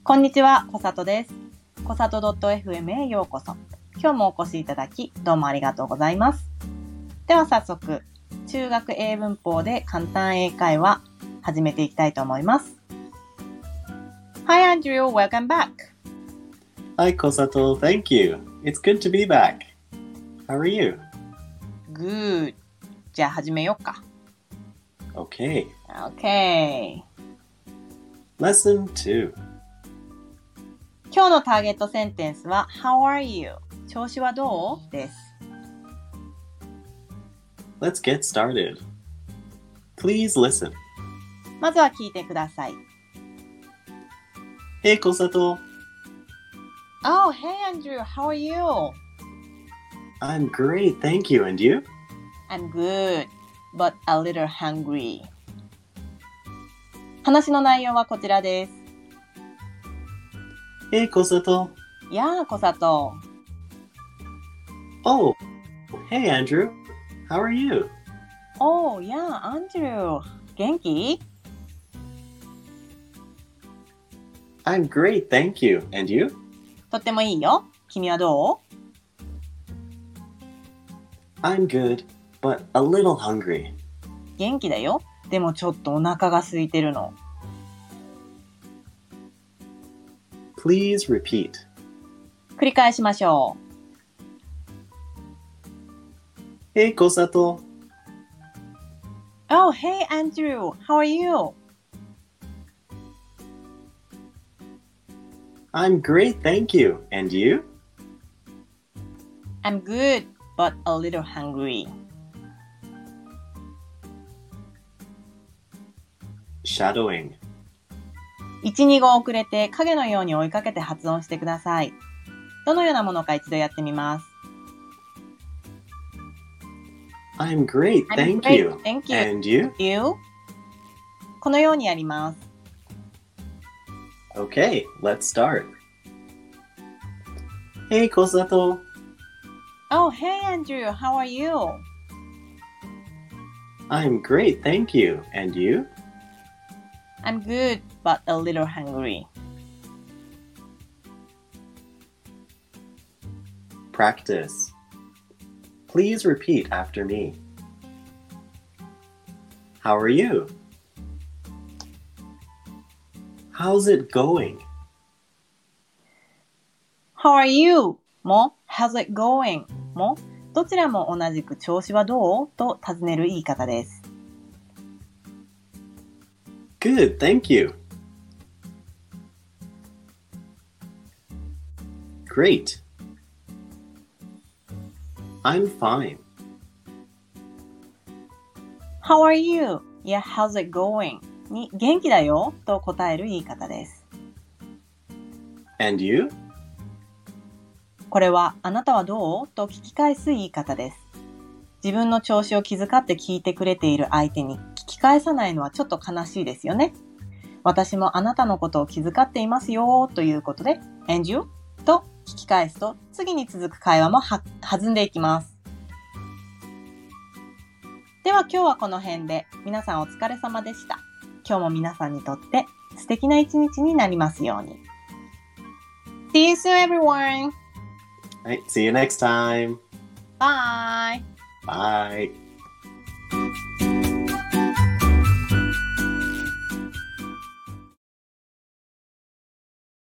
こんにちは、こさとです。こさと .fm へようこそ。今日もお越しいただき、どうもありがとうございます。では早速、中学英文法で簡単英会話、始めていきたいと思います。Hi Andrew, welcome back. Hi Kosato, thank you. It's good to be back. How are you? Good. じゃあ始めようか。 Okay. Okay. Lesson 2. 今日のターゲットセンテンスは How are you? 調子はどう？です。 Let's get started. Please listen. まずは聞いてください。 Hey Kosato. Oh, hey Andrew, how are you? I'm great, thank you. And you? I'm good, but a little hungry. 話の内容はこちらです。 Hey Kosato. やあ、こさと。 Oh, hey Andrew. How are you? Oh, やあ、アンドリュー。元気？ I'm great, thank you. And you? とってもいいよ。君はどう？ I'm good, but a little hungry. 元気だよ。でもちょっとお腹が空いてるの。 Please repeat. 繰り返しましょう。Hey Kosato. Oh, hey Andrew, how are you? I'm great, thank you. And you? I'm good, but a little hungry. Shadowing. 1、2語遅れて影のように追いかけて発音してください。どのようなものか一度やってみます。 I'm great, thank you. Thank you. And you? You? このようにやります。 Okay, let's start. Hey Kosato. Oh, hey Andrew, how are you? I'm great, thank you. And you? I'm good, but a little hungry. Practice. Please repeat after me. How are you? How's it going? How are you? も How's it going? もどちらも同じく調子はどうと尋ねる言い方です。 Good, thank you. Great. I'm fine. How are you? いや、How's it going? に元気だよと答える言い方です。 And you? これはあなたはどうと聞き返す言い方です。自分の調子を気遣って聞いてくれている相手に聞き返さないのはちょっと悲しいですよね。私もあなたのことを気遣っていますよということで And you? と聞き返すと次に続く会話も弾んでいきます。では今日はこの辺で皆さんお疲れ様でした。今日も皆さんにとって素敵な一日になりますように。See you soon everyone! All right, see you next time. Bye! Bye.